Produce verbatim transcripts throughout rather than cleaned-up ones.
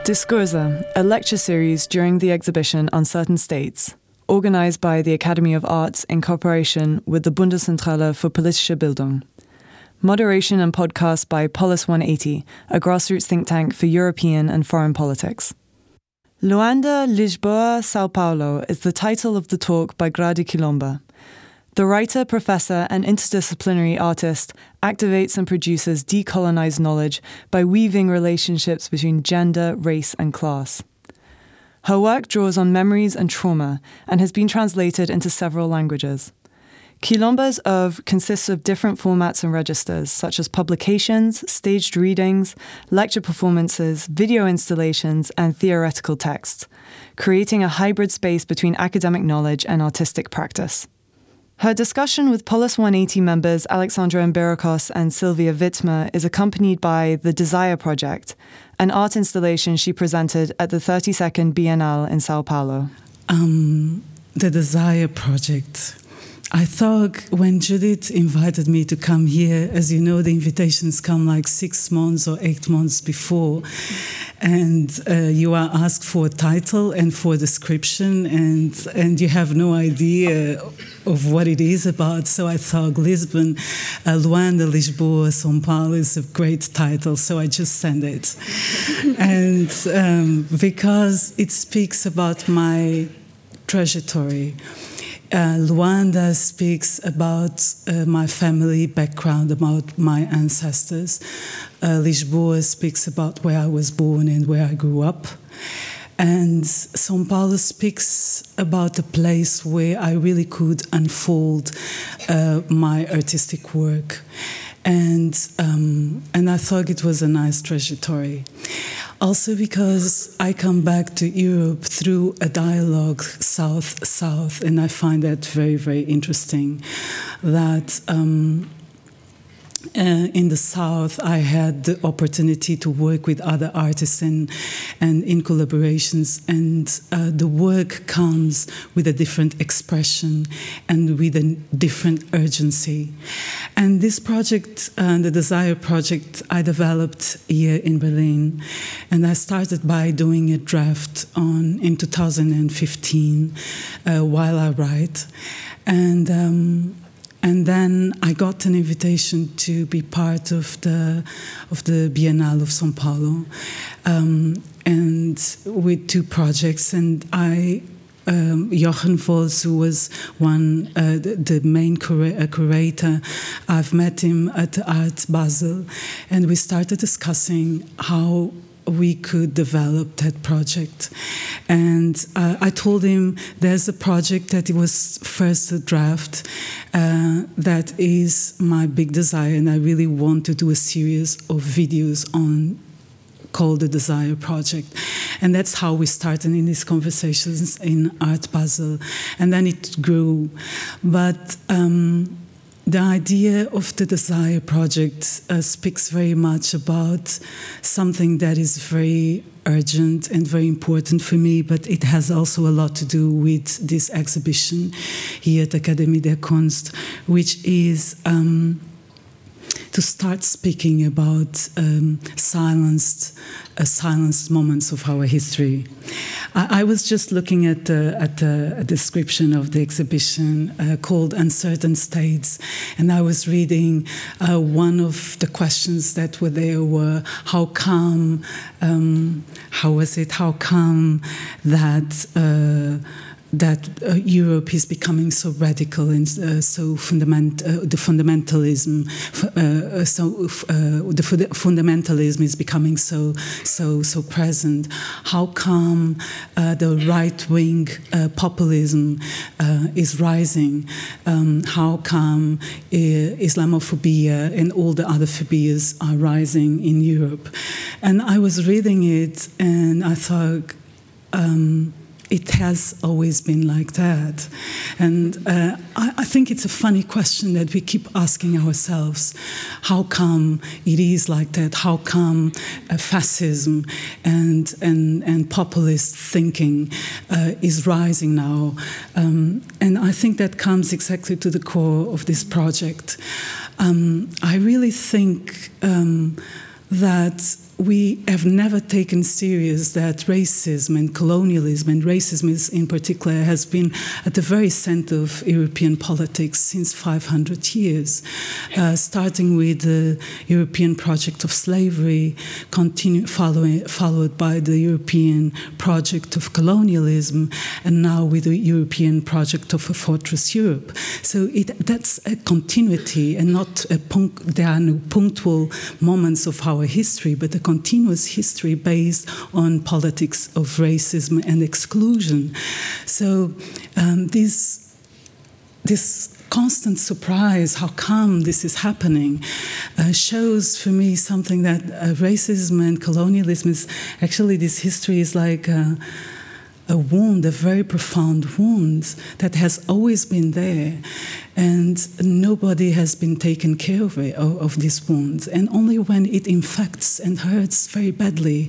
Diskurse, a lecture series during the exhibition Uncertain States, organized by the Academy of Arts in cooperation with the Bundeszentrale für politische Bildung. Moderation and podcast by Polis one eighty, a grassroots think tank for European and foreign politics. Luanda, Lisboa, Sao Paulo is the title of the talk by Grady Quilomba. The writer, professor, and interdisciplinary artist activates and produces decolonized knowledge by weaving relationships between gender, race, and class. Her work draws on memories and trauma and has been translated into several languages. Quilomba's oeuvre consists of different formats and registers, such as publications, staged readings, lecture performances, video installations, and theoretical texts, creating a hybrid space between academic knowledge and artistic practice. Her discussion with Polis one eighty members Alexandra Mbirikos and Sylvia Wittmer is accompanied by The Desire Project, an art installation she presented at the thirty-second Biennale in Sao Paulo. Um, the Desire Project. I thought when Judith invited me to come here, as you know, the invitations come like six months or eight months before, and uh, you are asked for a title and for a description, and and you have no idea of what it is about. So I thought Lisbon, uh, Luanda, Lisboa, São Paulo is a great title, so I just sent it. and um, because it speaks about my trajectory. Uh, Luanda speaks about uh, my family background, about my ancestors. Uh, Lisboa speaks about where I was born and where I grew up. And São Paulo speaks about a place where I really could unfold uh, my artistic work. And, um, and I thought it was a nice trajectory. Also because I come back to Europe through a dialogue South-South, and I find that very, very interesting. That um, uh, in the South, I had the opportunity to work with other artists and, and in collaborations, and uh, the work comes with a different expression and with a different urgency. And this project, uh, the Desire Project, I developed here in Berlin, and I started by doing a draft on in two thousand fifteen uh, while I write, and um, and then I got an invitation to be part of the of the Biennale of São Paulo, um, and with two projects, and I. Um, Jochen Volz, who was one, uh, the, the main cura- uh, curator, I've met him at Art Basel, and we started discussing how we could develop that project. And uh, I told him there's a project that it was first a draft uh, that is my big desire, and I really want to do a series of videos on called the Desire Project. And that's how we started in these conversations in Art Basel. And then it grew. But um, the idea of the Desire Project uh, speaks very much about something that is very urgent and very important for me, but it has also a lot to do with this exhibition here at Académie der Kunst, which is um, to start speaking about um, silenced, uh, silenced moments of our history. I, I was just looking at, uh, at uh, a description of the exhibition uh, called Uncertain States, and I was reading uh, one of the questions that were there were, how come, um, how was it, how come that uh, that uh, Europe is becoming so radical and uh, so fundament, uh, the fundamentalism, uh, so uh, the fundamentalism is becoming so so so present. How come uh, the right-wing uh, populism uh, is rising? Um, how come uh, Islamophobia and all the other phobias are rising in Europe? And I was reading it, and I thought. Um, It has always been like that. And uh, I, I think it's a funny question that we keep asking ourselves. How come it is like that? How come uh, fascism and, and, and populist thinking uh, is rising now? Um, and I think that comes exactly to the core of this project. Um, I really think um, that we have never taken serious that racism and colonialism, and racism is in particular, has been at the very center of European politics since five hundred years, uh, starting with the European project of slavery, continue, following, followed by the European project of colonialism, and now with the European project of a fortress Europe. So it, that's a continuity and not a punct, there are no punctual moments of our history, but a continuous history based on politics of racism and exclusion. So um, this, this constant surprise, how come this is happening, uh, shows for me something that uh, racism and colonialism is actually, this history is like uh, a wound, a very profound wound that has always been there, and nobody has been taken care of, it, of, of this wound. And only when it infects and hurts very badly,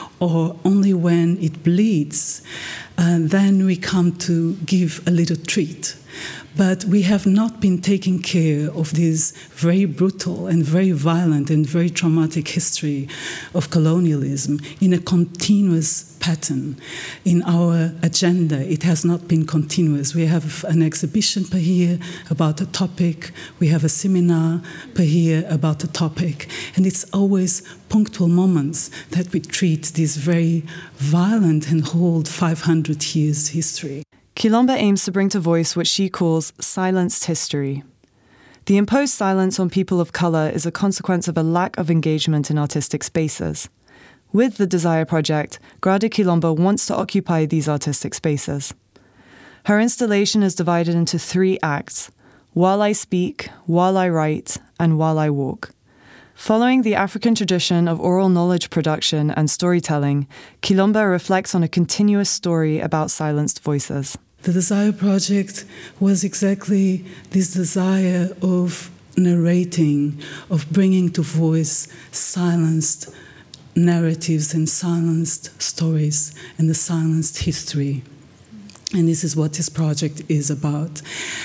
or only when it bleeds, uh, then we come to give a little treat. But we have not been taking care of this very brutal and very violent and very traumatic history of colonialism in a continuous pattern. In our agenda, it has not been continuous. We have an exhibition per year about a topic. We have a seminar per year about a topic. And it's always punctual moments that we treat this very violent and old five hundred years history. Kilomba aims to bring to voice what she calls silenced history. The imposed silence on people of colour is a consequence of a lack of engagement in artistic spaces. With the Desire Project, Grada Kilomba wants to occupy these artistic spaces. Her installation is divided into three acts: While I Speak, While I Write, and While I Walk. Following the African tradition of oral knowledge production and storytelling, Kilomba reflects on a continuous story about silenced voices. The Desire Project was exactly this desire of narrating, of bringing to voice silenced narratives and silenced stories and the silenced history. And this is what this project is about.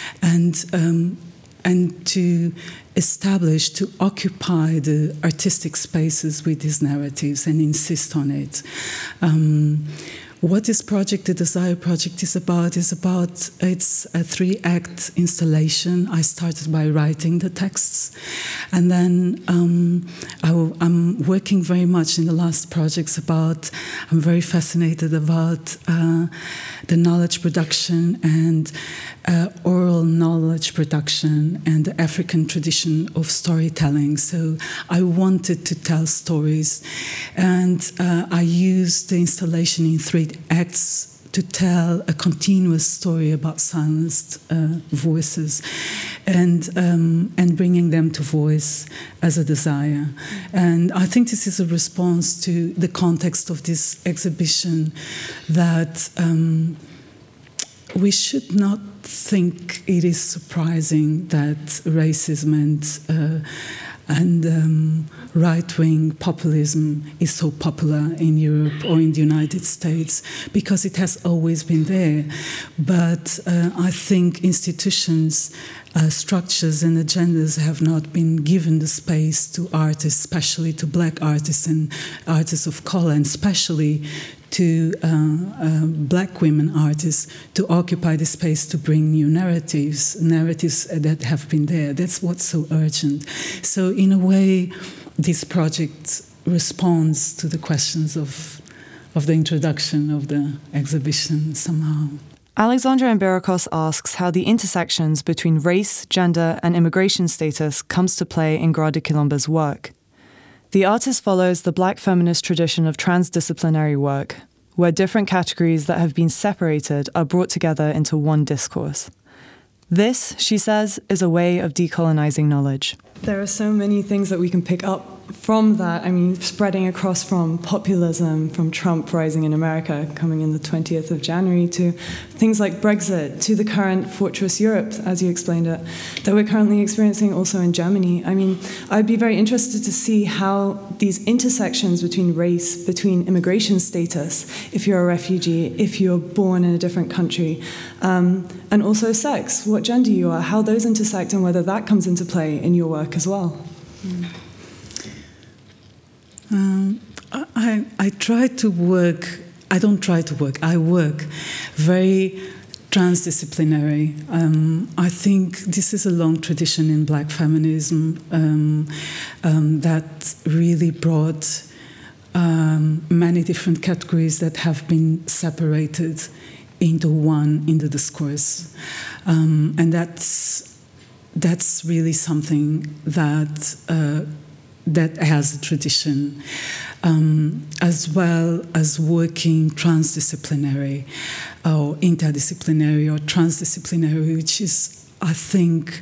And um, and to establish, to occupy the artistic spaces with these narratives and insist on it. Um, what this project, the Desire Project, is about is about, it's a three-act installation. I started by writing the texts, and then um, I, I'm working very much in the last projects about, I'm very fascinated about uh, the knowledge production and uh, oral knowledge production and the African tradition of storytelling. So I wanted to tell stories, and uh, I used the installation in three acts to tell a continuous story about silenced uh, voices, and um, and bringing them to voice as a desire. And I think this is a response to the context of this exhibition, that um, we should not think it is surprising that racism and uh, and um, right-wing populism is so popular in Europe or in the United States, because it has always been there. But uh, I think institutions, uh, structures and agendas have not been given the space to artists, especially to black artists and artists of color, and especially to uh, uh, black women artists, to occupy the space to bring new narratives, narratives that have been there. That's what's so urgent. So in a way, this project responds to the questions of, of the introduction of the exhibition somehow. Alexandra Emberikos asks how the intersections between race, gender and immigration status comes to play in Grada Kilomba's work. The artist follows the black feminist tradition of transdisciplinary work, where different categories that have been separated are brought together into one discourse. This, she says, is a way of decolonizing knowledge. There are so many things that we can pick up from that. I mean, spreading across from populism, from Trump rising in America, coming in the twentieth of January, to things like Brexit, to the current Fortress Europe, as you explained it, that we're currently experiencing also in Germany. I mean, I'd be very interested to see how these intersections between race, between immigration status, if you're a refugee, if you're born in a different country, um, and also sex, what gender you are, how those intersect and whether that comes into play in your work as well. Mm. Um, I, I try to work, I don't try to work, I work very transdisciplinary. Um, I think this is a long tradition in Black feminism um, um, that really brought um, many different categories that have been separated into one in the discourse. Um, and that's, that's really something that uh, that has a tradition, um, as well as working transdisciplinary or interdisciplinary or transdisciplinary, which is, I think,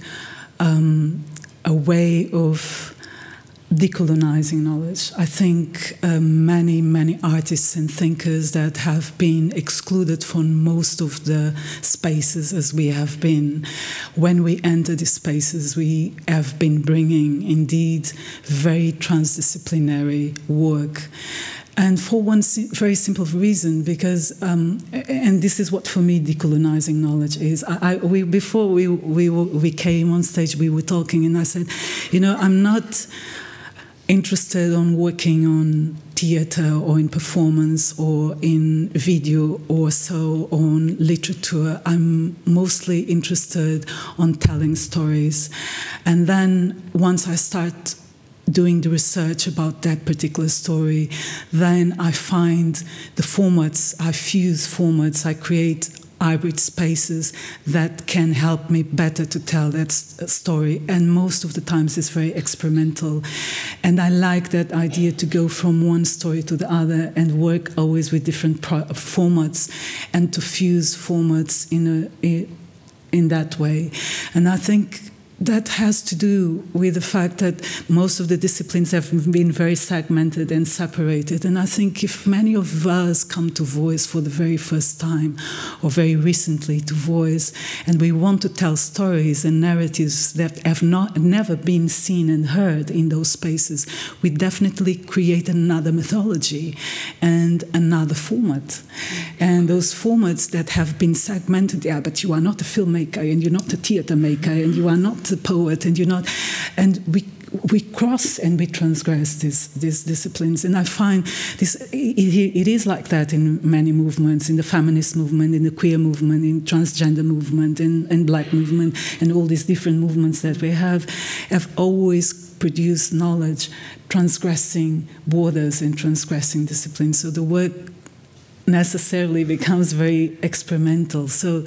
um, a way of decolonizing knowledge. I think uh, many, many artists and thinkers that have been excluded from most of the spaces as we have been. When we enter these spaces, we have been bringing, indeed, very transdisciplinary work. And for one very simple reason, because, um, and this is what for me decolonizing knowledge is. I, I, we, before we, we, we came on stage, we were talking, and I said, you know, I'm not interested on working on theater or in performance or in video or so on literature. I'm mostly interested on telling stories. And then once I start doing the research about that particular story, then I find the formats, I fuse formats, I create hybrid spaces that can help me better to tell that story. And most of the times it's very experimental. And I like that idea to go from one story to the other and work always with different pro- formats and to fuse formats in a, in that way. And I think that has to do with the fact that most of the disciplines have been very segmented and separated. And I think if many of us come to Voice for the very first time, or very recently to Voice, and we want to tell stories and narratives that have not never been seen and heard in those spaces, we definitely create another mythology and another format. And those formats that have been segmented, yeah, but you are not a filmmaker, and you're not a theater maker, and you are not the poet, and you're not, and we we cross and we transgress these these disciplines. And I find this it, it is like that in many movements, in the feminist movement, in the queer movement, in transgender movement, in, in Black movement, and all these different movements that we have have always produced knowledge transgressing borders and transgressing disciplines. So the work necessarily becomes very experimental. So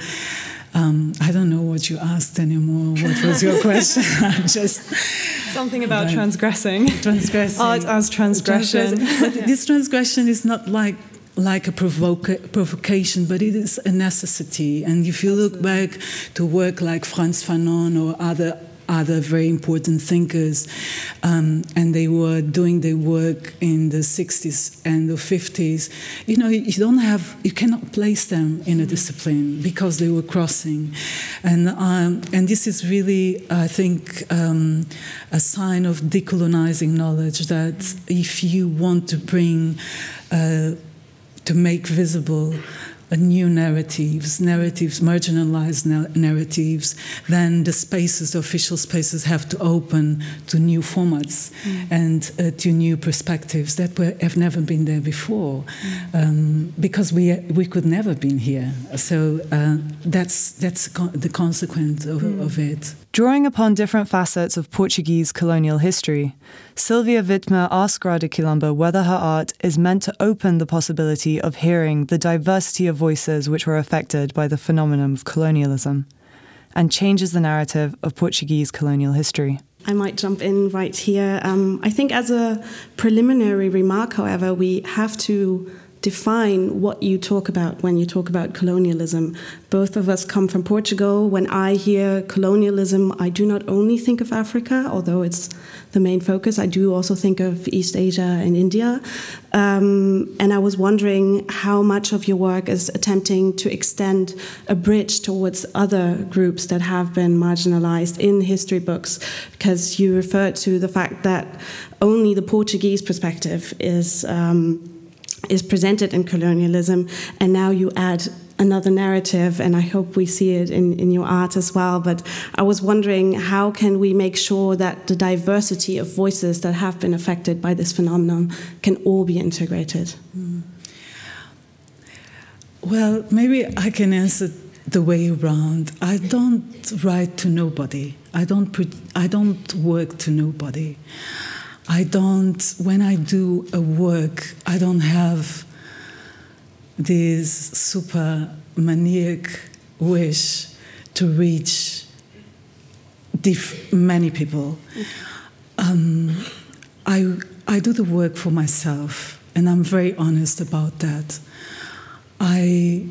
Um, I don't know what you asked anymore. What was your question? Just something about right. transgressing. Transgressing. Art as transgression. transgression. But yeah. This transgression is not like like a provoca- provocation, but it is a necessity. And if you look back to work like Frantz Fanon or other other very important thinkers, um, and they were doing their work in the sixties and the fifties. You know, you don't have, you cannot place them in a discipline because they were crossing, and um, and this is really, I think, um, a sign of decolonizing knowledge. That if you want to bring, uh, to make visible a new narratives, narratives, marginalized na- narratives, then the spaces, the official spaces have to open to new formats mm. and uh, to new perspectives that were, have never been there before, mm. um, because we we could never been here. So uh, that's that's co- the consequence of, mm. of it. Drawing upon different facets of Portuguese colonial history, Sylvia Wittmer asked Grada Quilombo whether her art is meant to open the possibility of hearing the diversity of voices which were affected by the phenomenon of colonialism, and changes the narrative of Portuguese colonial history. I might jump in right here. Um, I think as a preliminary remark, however, we have to define what you talk about when you talk about colonialism. Both of us come from Portugal. When I hear colonialism, I do not only think of Africa, although it's the main focus. I do also think of East Asia and India. Um, and I was wondering how much of your work is attempting to extend a bridge towards other groups that have been marginalized in history books, because you referred to the fact that only the Portuguese perspective is um, is presented in colonialism, and now you add another narrative, and I hope we see it in, in your art as well. But I was wondering, how can we make sure that the diversity of voices that have been affected by this phenomenon can all be integrated? Mm. Well, maybe I can answer the way around. I don't write to nobody. I don't put, I don't work to nobody. I don't, when I do a work, I don't have this super maniac wish to reach diff- many people. Um, I, I do the work for myself, and I'm very honest about that. I,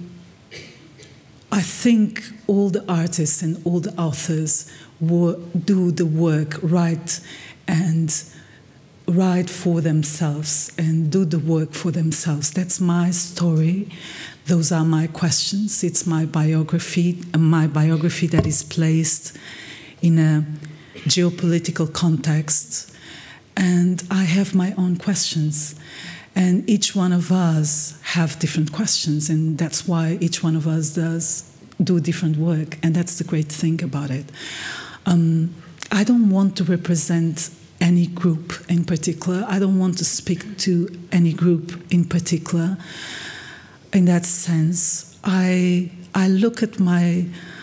I think all the artists and all the authors wo- do the work right and write for themselves and do the work for themselves. That's my story. Those are my questions. It's my biography, my biography that is placed in a geopolitical context. And I have my own questions. And each one of us have different questions, and that's why each one of us does do different work, and that's the great thing about it. Um, I don't want to represent any group in particular. I don't want to speak to any group in particular. In that sense, I I look at my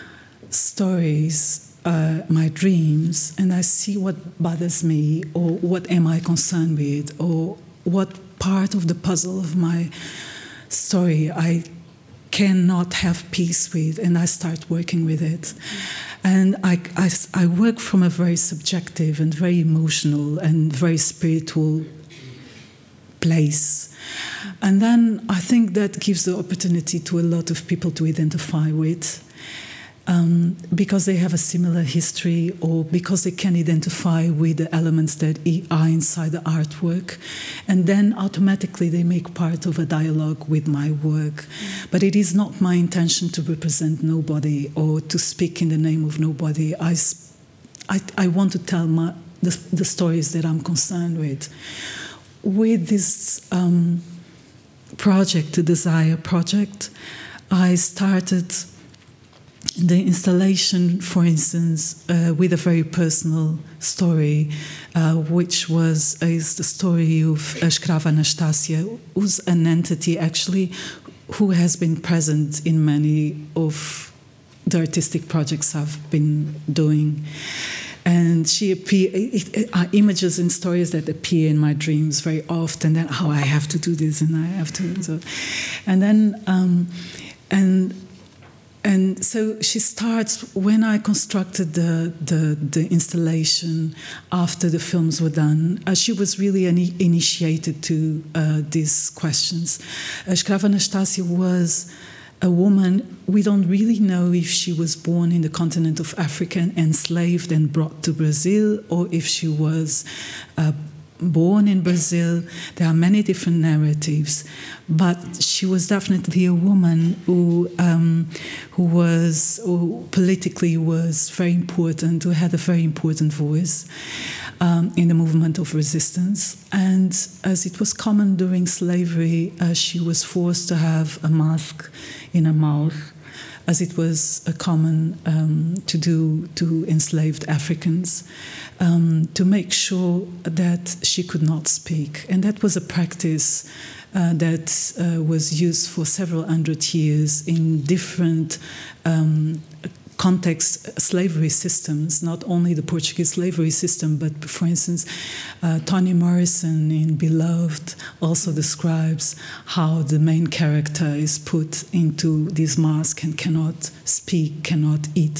stories, uh, my dreams, and I see what bothers me, or what am I concerned with, or what part of the puzzle of my story I cannot have peace with, and I start working with it. And I, I, I work from a very subjective and very emotional and very spiritual place. And then I think that gives the opportunity to a lot of people to identify with, um, because they have a similar history, or because they can identify with the elements that are inside the artwork. And then automatically they make part of a dialogue with my work. Mm. But it is not my intention to represent nobody or to speak in the name of nobody. I, I, I want to tell my, the, the stories that I'm concerned with. With this um, project, the Desire Project, I started the installation, for instance, uh, with a very personal story, uh, which was is the story of uh, Escrava Anastasia, who's an entity actually who has been present in many of the artistic projects I've been doing. And she appear, it, it, uh, images and stories that appear in my dreams very often. That oh, I have to do this and I have to. So. And then um, and. And so she starts, when I constructed the, the, the installation after the films were done, uh, she was really an initiated to uh, these questions. Uh, Escrava Anastasia was a woman, we don't really know if she was born in the continent of Africa and enslaved and brought to Brazil, or if she was uh, born in Brazil. There are many different narratives, but she was definitely a woman who um, who was who politically was very important, who had a very important voice um, in the movement of resistance. And as it was common during slavery, uh, she was forced to have a mask in her mouth, as it was uh, common um, to do to enslaved Africans, um, to make sure that she could not speak. And that was a practice uh, that uh, was used for several hundred years in different um, context slavery systems, not only the Portuguese slavery system, but for instance, uh, Toni Morrison in Beloved also describes how the main character is put into this mask and cannot speak, cannot eat.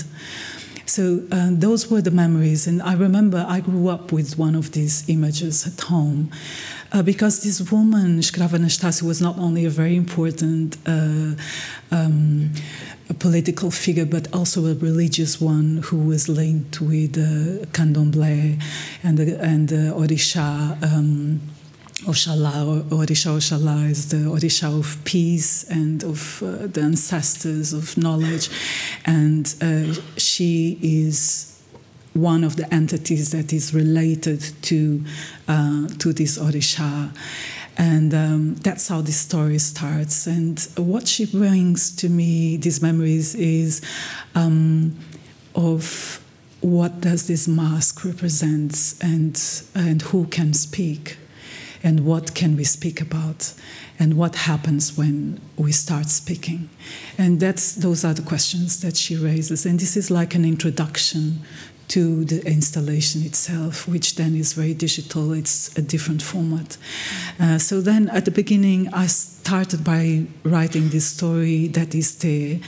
So uh, those were the memories, and I remember I grew up with one of these images at home, uh, because this woman, Escrava Anastasia, was not only a very important uh, um, a political figure, but also a religious one who was linked with uh, Candomblé and the, and the Orisha. Um, Oshala, or Orisha Oshala is the Orisha of peace and of uh, the ancestors of knowledge, and uh, she is one of the entities that is related to uh, to this Orisha. And um, that's how this story starts. And what she brings to me, these memories, is um, of what does this mask represent, and, and who can speak, and what can we speak about, and what happens when we start speaking. And that's, those are the questions that she raises. And this is like an introduction to the installation itself, which then is very digital. It's a different format. Uh, so then at the beginning, I started by writing this story that is there.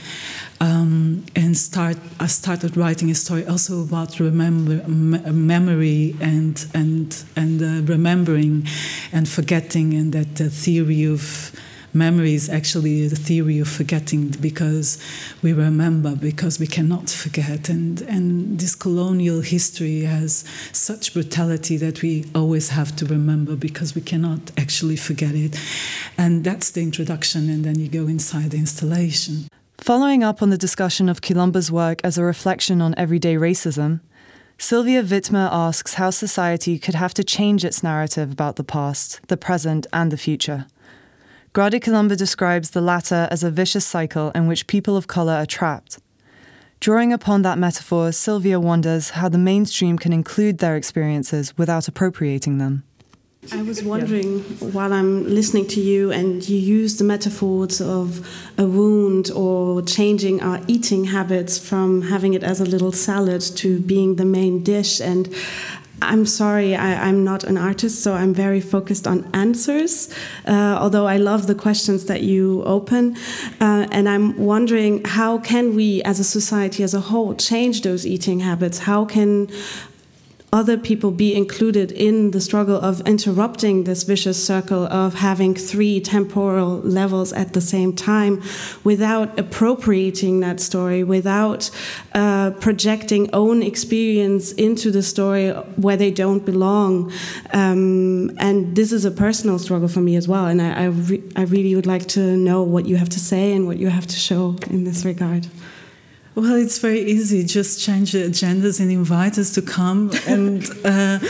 Um, and start, I started writing a story also about remember, m- memory and, and, and uh, remembering and forgetting, and that the theory of memory is actually the theory of forgetting, because we remember because we cannot forget. And, and this colonial history has such brutality that we always have to remember because we cannot actually forget it. And that's the introduction, and then you go inside the installation. Following up on the discussion of Quilombo's work as a reflection on everyday racism, Sylvia Wittmer asks how society could have to change its narrative about the past, the present, and the future. Grada Quilombo describes the latter as a vicious cycle in which people of colour are trapped. Drawing upon that metaphor, Sylvia wonders how the mainstream can include their experiences without appropriating them. I was wondering, while I'm listening to you, and you use the metaphors of a wound or changing our eating habits from having it as a little salad to being the main dish. And I'm sorry, I, I'm not an artist, so I'm very focused on answers, uh, although I love the questions that you open. Uh, and I'm wondering, how can we, as a society as a whole, change those eating habits? How can other people be included in the struggle of interrupting this vicious circle of having three temporal levels at the same time, without appropriating that story, without uh, projecting own experience into the story where they don't belong. Um, and this is a personal struggle for me as well, and I, I, re- I really would like to know what you have to say and what you have to show in this regard. Well, it's very easy. Just change the agendas and invite us to come. And uh,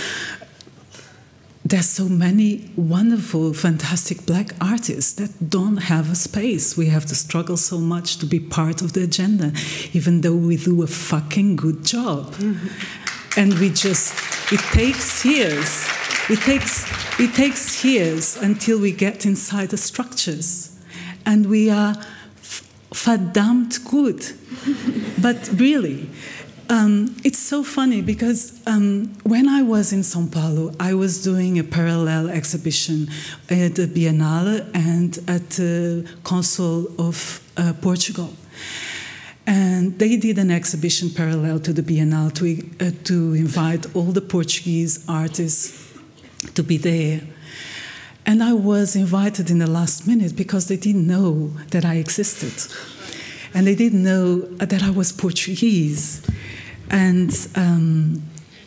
there's so many wonderful, fantastic black artists that don't have a space. We have to struggle so much to be part of the agenda, even though we do a fucking good job. Mm-hmm. And we just, it takes years. It takes, it takes years until we get inside the structures. And we are verdammt good. But really, um, it's so funny because um, when I was in São Paulo, I was doing a parallel exhibition at the Biennale and at the Council of uh, Portugal. And they did an exhibition parallel to the Biennale to, uh, to invite all the Portuguese artists to be there. And I was invited in the last minute because they didn't know that I existed. And they didn't know that I was Portuguese. And, um,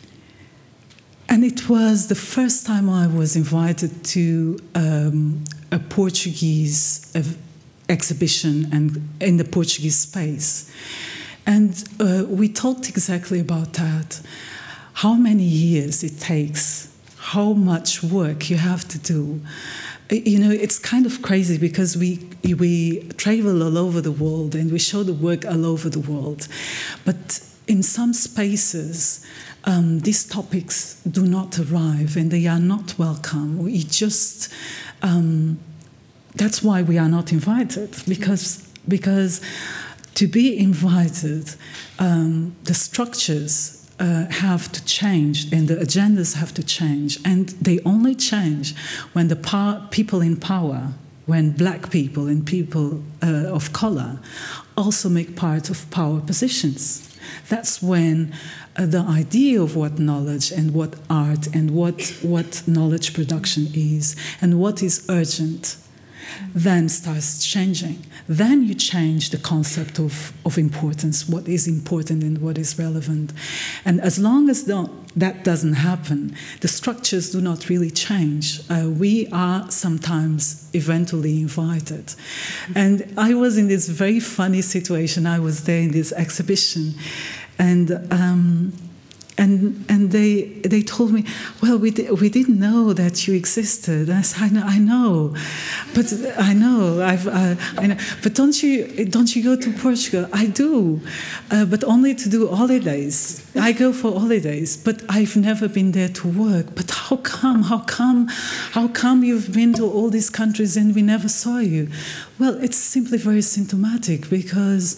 and it was the first time I was invited to um, a Portuguese uh, exhibition and in the Portuguese space. And uh, we talked exactly about that. How many years it takes, how much work you have to do. You know, it's kind of crazy because we we travel all over the world and we show the work all over the world. But in some spaces, um, these topics do not arrive and they are not welcome. We just, um, that's why we are not invited, because, because to be invited, um, the structures Uh, have to change and the agendas have to change, and they only change when the power, people in power, when black people and people uh, of color also make part of power positions. That's when uh, the idea of what knowledge and what art and what, what knowledge production is and what is urgent then starts changing. Then you change the concept of, of importance, what is important and what is relevant. And as long as the, that doesn't happen, the structures do not really change. Uh, we are sometimes eventually invited. And I was in this very funny situation. I was there in this exhibition, and um, And and they they told me, well, we di- we didn't know that you existed. And I said, I know, I know, but I know, I've, uh, I know. But don't you don't you go to Portugal? I do, uh, but only to do holidays. I go for holidays, but I've never been there to work. But how come? How come? How come you've been to all these countries and we never saw you? Well, it's simply very symptomatic because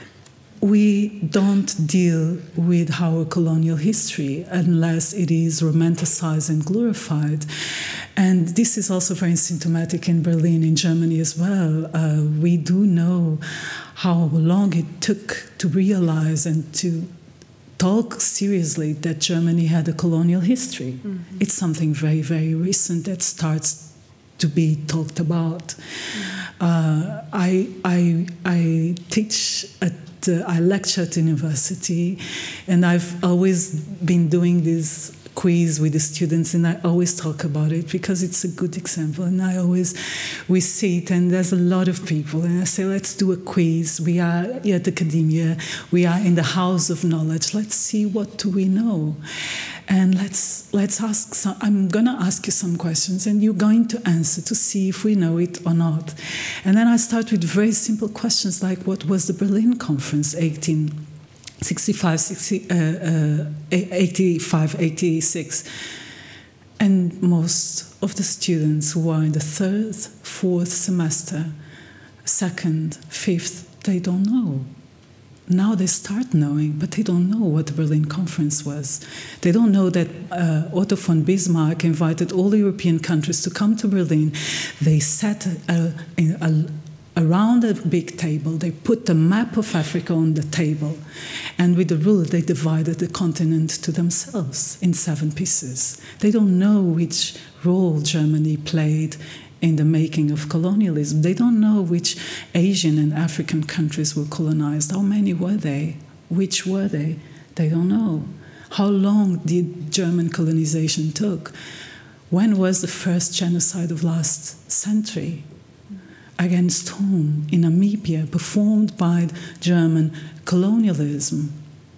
we don't deal with our colonial history unless it is romanticized and glorified. And this is also very symptomatic in Berlin, in Germany as well. Uh, we do know how long it took to realize and to talk seriously that Germany had a colonial history. Mm-hmm. It's something very, very recent that starts to be talked about. Mm-hmm. Uh, I, I, I teach at Uh, I lecture at university, and I've always been doing this quiz with the students, and I always talk about it because it's a good example. And I always, we sit, and there's a lot of people, and I say, let's do a quiz. We are at academia, we are in the house of knowledge. Let's see, what do we know? And let's let's ask some, I'm going to ask you some questions, and you're going to answer to see if we know it or not. And then I start with very simple questions like, what was the Berlin Conference, eighteen sixty-five, sixty, uh, uh, eighty-five, eighty-six? And most of the students who are in the third, fourth semester, second, fifth, they don't know. Now they start knowing, but they don't know what the Berlin Conference was. They don't know that uh, Otto von Bismarck invited all the European countries to come to Berlin. They sat uh, in a, around a big table. They put the map of Africa on the table. And with the rule, they divided the continent to themselves in seven pieces. They don't know which role Germany played in the making of colonialism. They don't know which Asian and African countries were colonized. How many were they? Which were they? They don't know. How long did German colonization took? When was the first genocide of last century? Against whom? In Namibia, performed by German colonialism.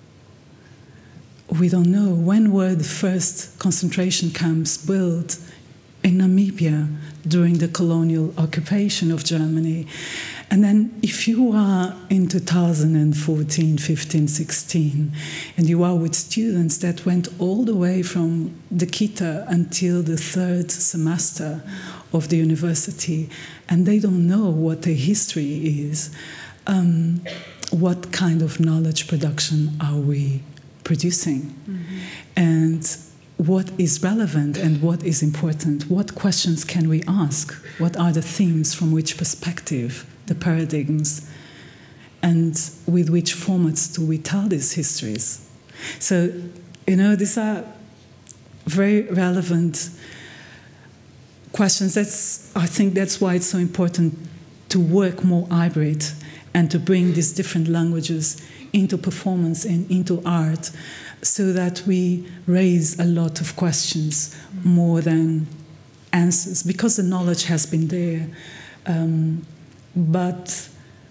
We don't know. When were the first concentration camps built in Namibia during the colonial occupation of Germany? And then if you are in two thousand fourteen, fifteen, sixteen, and you are with students that went all the way from the Kita until the third semester of the university, and they don't know what their history is, um, what kind of knowledge production are we producing? Mm-hmm. And what is relevant and what is important? What questions can we ask? What are the themes, from which perspective, the paradigms, and with which formats do we tell these histories? So, you know, these are very relevant questions. That's, I think that's why it's so important to work more hybrid and to bring these different languages into performance and into art, so that we raise a lot of questions more than answers, because the knowledge has been there. Um, but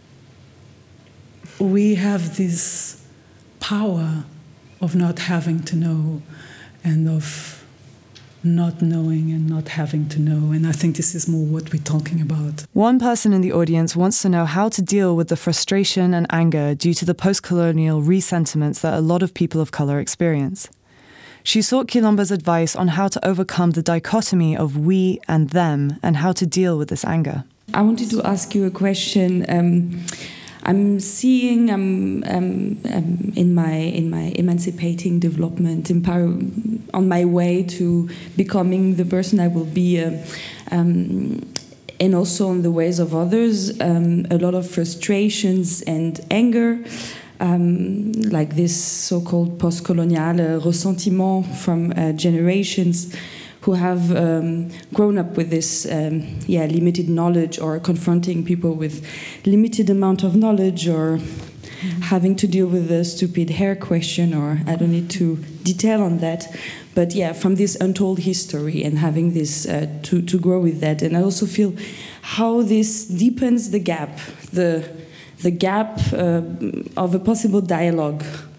we have this power of not having to know, and of not knowing and not having to know. And I think this is more what we're talking about. One person in the audience wants to know how to deal with the frustration and anger due to the post-colonial resentiments that a lot of people of colour experience. She sought Quilombo's advice on how to overcome the dichotomy of we and them, and how to deal with this anger. I wanted to ask you a question. Um, I'm seeing um, um, um, in my in my emancipating development, empower, on my way to becoming the person I will be, uh, um, and also on the ways of others, um, a lot of frustrations and anger, um, like this so-called post-colonial uh, ressentiment from uh, generations who have um, grown up with this um, yeah, limited knowledge, or confronting people with limited amount of knowledge, or mm-hmm. having to deal with the stupid hair question, or I don't need to detail on that. But yeah, from this untold history, and having this uh, to, to grow with that. And I also feel how this deepens the gap, the, the gap uh, of a possible dialogue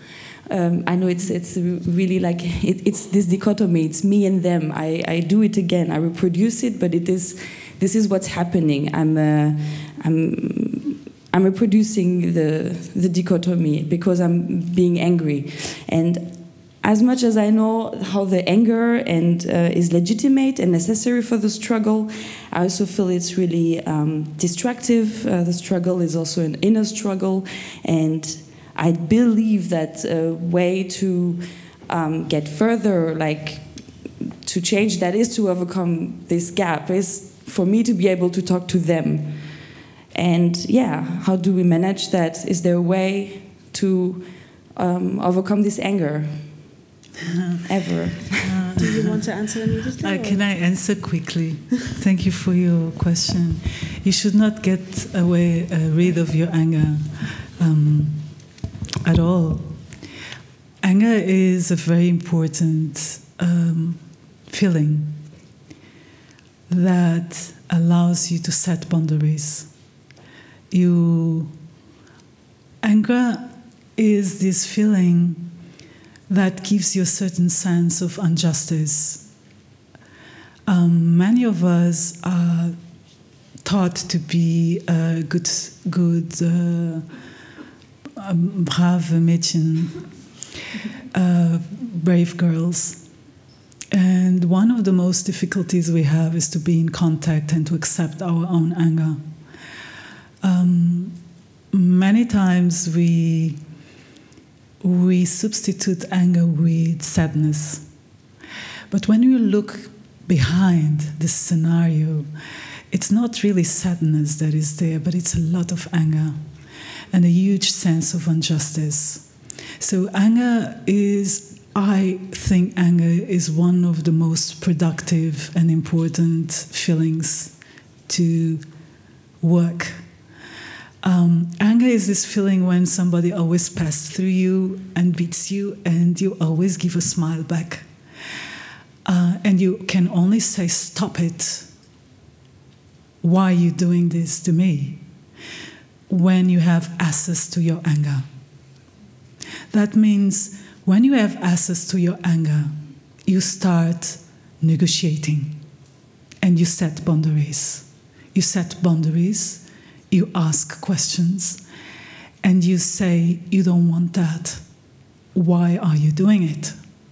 Um, I know it's it's really like it, it's this dichotomy. It's me and them. I, I do it again. I reproduce it, but it is this is what's happening. I'm uh, I'm I'm reproducing the the dichotomy because I'm being angry, and as much as I know how the anger and uh, is legitimate and necessary for the struggle, I also feel it's really um, destructive. Uh, the struggle is also an inner struggle, and I believe that a way to um, get further, like to change that, is to overcome this gap, is for me to be able to talk to them. And yeah, how do we manage that? Is there a way to um, overcome this anger? Ever. Uh, do you want to answer immediately? Uh, can I answer quickly? Thank you for your question. You should not get away uh, rid of your anger um, at all. Anger is a very important um, feeling that allows you to set boundaries. You anger is this feeling that gives you a certain sense of injustice. Um, many of us are taught to be uh, good, good, uh, um, brave Mädchen, uh, brave girls. And one of the most difficulties we have is to be in contact and to accept our own anger. Um, many times we we substitute anger with sadness. But when you look behind this scenario, it's not really sadness that is there, but it's a lot of anger and a huge sense of injustice. So anger is, I think anger is one of the most productive and important feelings to work. Um, anger is this feeling when somebody always passes through you and beats you, and you always give a smile back. Uh, and you can only say, stop it. Why are you doing this to me? When you have access to your anger. That means when you have access to your anger, you start negotiating and you set boundaries. You set boundaries. You ask questions, and you say, you don't want that. Why are you doing it?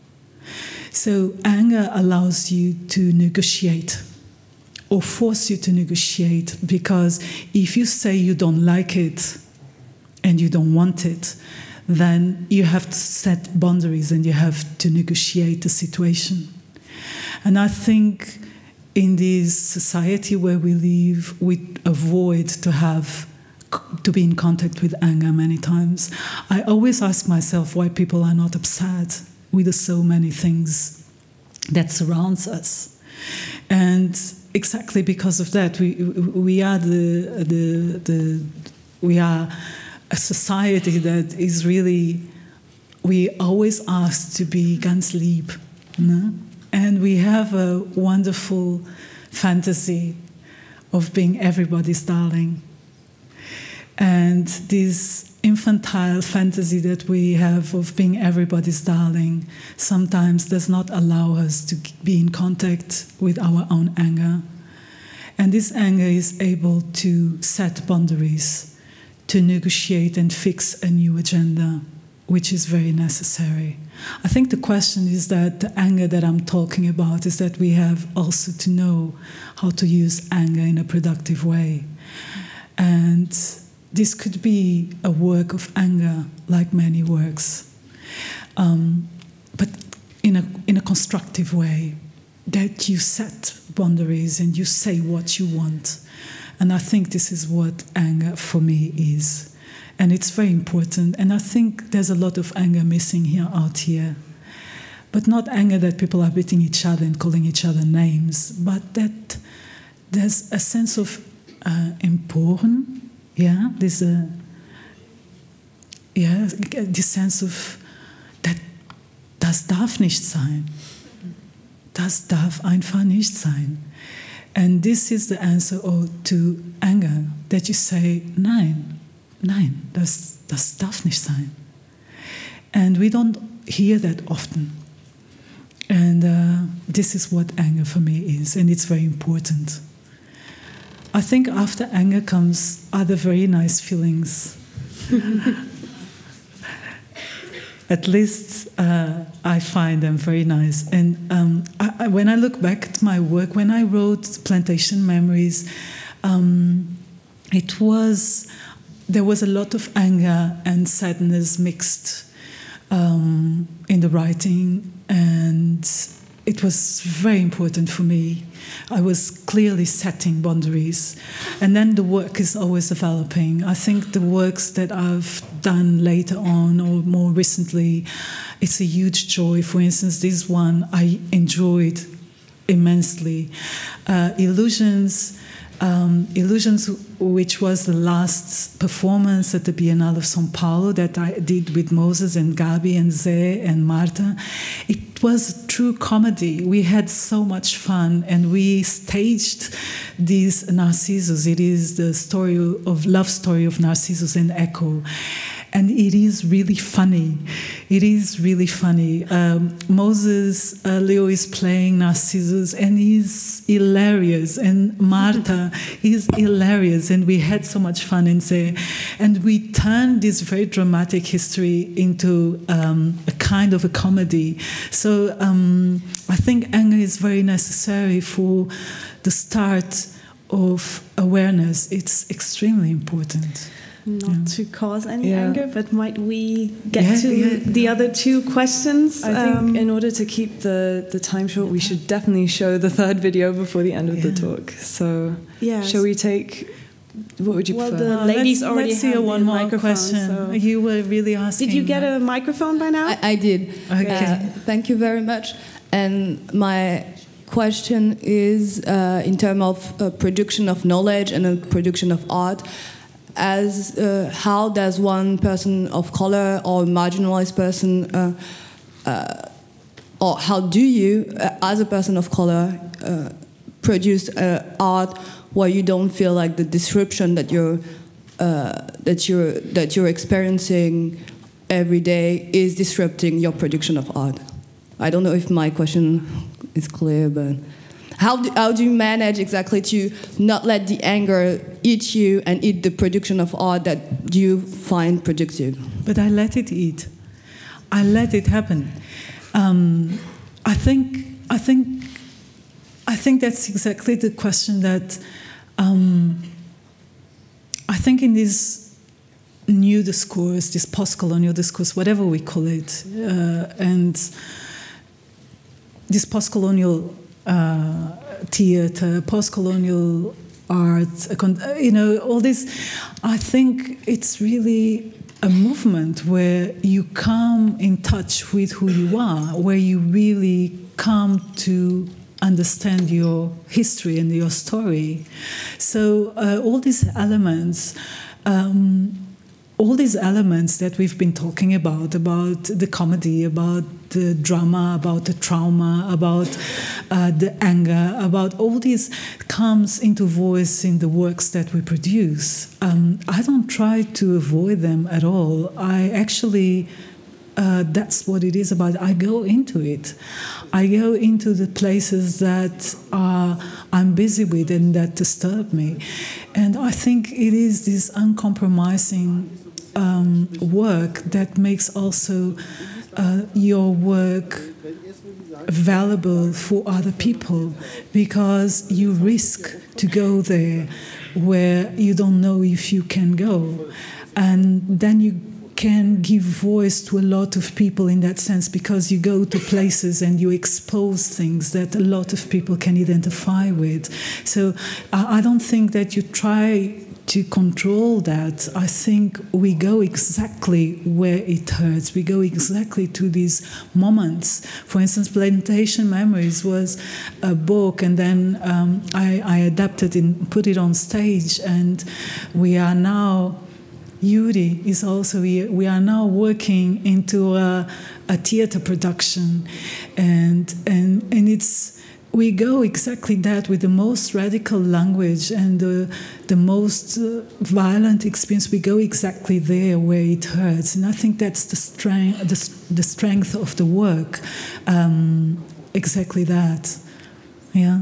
So anger allows you to negotiate or force you to negotiate, because if you say you don't like it and you don't want it, then you have to set boundaries and you have to negotiate the situation. And I think in this society where we live, we avoid to have to be in contact with anger many times. I always ask myself why people are not upset with so many things that surrounds us. And exactly because of that, we we are the the the we are a society that is really, we always ask to be ganz lieb, no? And we have a wonderful fantasy of being everybody's darling. And this infantile fantasy that we have of being everybody's darling sometimes does not allow us to be in contact with our own anger. And this anger is able to set boundaries, to negotiate and fix a new agenda, which is very necessary. I think the question is that the anger that I'm talking about is that we have also to know how to use anger in a productive way. And this could be a work of anger, like many works, um, but in a, in a constructive way, that you set boundaries and you say what you want. And I think this is what anger for me is. And it's very important. And I think there's a lot of anger missing here, out here. But not anger that people are beating each other and calling each other names, but that there's a sense of uh, emporen, yeah, there's a, yeah, this sense of, that das darf nicht sein. Das darf einfach nicht sein. And this is the answer to anger, that you say, nein, nein, das, das darf nicht sein. And we don't hear that often. And uh, this is what anger for me is, and it's very important. I think after anger comes other very nice feelings. At least uh, I find them very nice. And um, I, I, when I look back at my work, when I wrote Plantation Memories, um, it was, there was a lot of anger and sadness mixed um, in the writing, and it was very important for me. I was clearly setting boundaries. And then the work is always developing. I think the works that I've done later on or more recently, it's a huge joy. For instance, this one I enjoyed immensely. Uh, Illusions, um, Illusions, which was the last performance at the Biennale of São Paulo that I did with Moses and Gabi and Zé and Marta. It was a true comedy. We had so much fun, and we staged this Narcissus. It is the story of love story of Narcissus and Echo. And it is really funny. It is really funny. Um, Moses, uh, Leo is playing Narcissus, and he's hilarious. And Marta is hilarious. And we had so much fun in there. And we turned this very dramatic history into um, a kind of a comedy. So um, I think anger is very necessary for the start of awareness. It's extremely important. Not yeah. to cause any yeah. anger, but might we get yeah, to yeah. the other two questions? I um, think in order to keep the, the time short, we should definitely show the third video before the end of yeah. the talk. So yes. shall we take, what would you well, prefer? the Uh, ladies let's, already let's see have one the more microphone, question. so- You were really asking. Did you get that. a microphone by now? I, I did. Okay. Uh, thank you very much. And my question is uh, in terms of uh, production of knowledge and uh, production of art. As uh, how does one person of color or marginalized person, uh, uh, or how do you, uh, as a person of color, uh, produce uh, art where you don't feel like the disruption that you're uh, that you're that you're experiencing every day is disrupting your production of art? I don't know if my question is clear, but. How do, how do you manage exactly to not let the anger eat you and eat the production of art that you find productive? But I let it eat. I let it happen. Um, I think. I think. I think that's exactly the question that. Um, I think in this new discourse, this post-colonial discourse, whatever we call it, uh, and this post-colonial. Uh, theater, post-colonial art, you know, all this. I think it's really a movement where you come in touch with who you are, where you really come to understand your history and your story. So uh, all these elements, um, all these elements that we've been talking about, about the comedy, about the drama, about the trauma, about uh, the anger, about all this comes into voice in the works that we produce. Um, I don't try to avoid them at all. I actually, uh, that's what it is about. I go into it. I go into the places that uh, I'm busy with and that disturb me. And I think it is this uncompromising um, work that makes also uh, your work valuable for other people, because you risk to go there where you don't know if you can go, and then you can give voice to a lot of people in that sense, because you go to places and you expose things that a lot of people can identify with. So I don't think that you try to control that. I think we go exactly where it hurts. We go exactly to these moments. For instance, Plantation Memories was a book, and then um, I, I adapted and put it on stage, and we are now, Yuri is also here, we are now working into a, a theater production, and, and, and it's we go exactly that with the most radical language and the, the most uh, violent experience. We go exactly there where it hurts, and I think that's the strength, the, the strength of the work. Um, exactly that, yeah.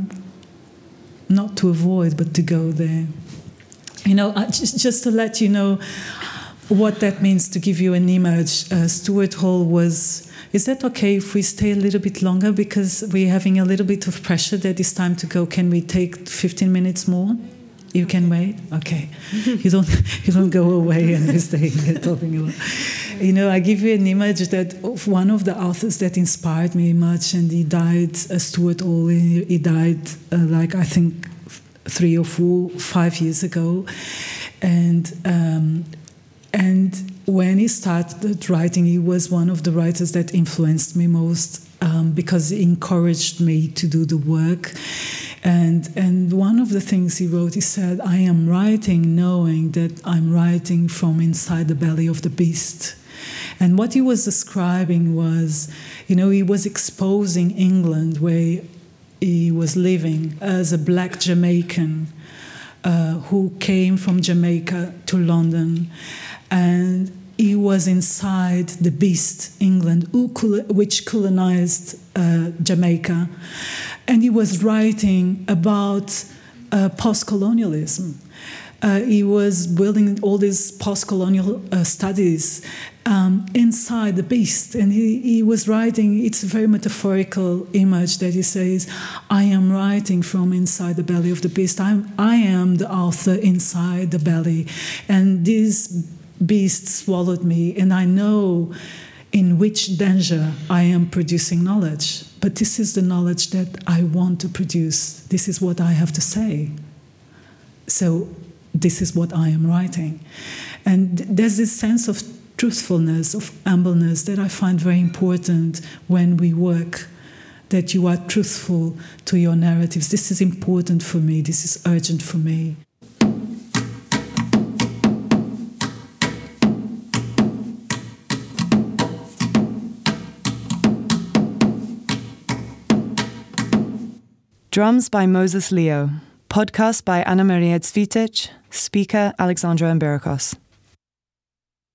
Not to avoid, but to go there. You know, uh, just just to let you know what that means, to give you an image. Uh, Stuart Hall was. Is that okay if we stay a little bit longer, because we're having a little bit of pressure that it's time to go? Can we take fifteen minutes more? You can wait? Okay. You don't you don't go away and we stay here talking about. You know, I give you an image that of one of the authors that inspired me much, and he died, uh, Stuart Hall. He, he died uh, like I think three or four, five years ago, and um, and. When he started writing, he was one of the writers that influenced me most, um, because he encouraged me to do the work. And, and one of the things he wrote, he said, I am writing knowing that I'm writing from inside the belly of the beast. And what he was describing was, you know, he was exposing England where he was living as a black Jamaican uh, who came from Jamaica to London. And he was inside the beast, England, who, which colonized uh, Jamaica. And he was writing about uh, post-colonialism. Uh, he was building all these post-colonial uh, studies um, inside the beast. And he, he was writing, it's a very metaphorical image that he says, I am writing from inside the belly of the beast. I'm, I am the author inside the belly. And this beast swallowed me, and I know in which danger I am producing knowledge. But this is the knowledge that I want to produce. This is what I have to say. So this is what I am writing. And there's this sense of truthfulness, of humbleness, that I find very important when we work, that you are truthful to your narratives. This is important for me. This is urgent for me. Drums by Moses Leo. Podcast by Anna Maria Cvitic. Speaker Alexandra Ambirikos.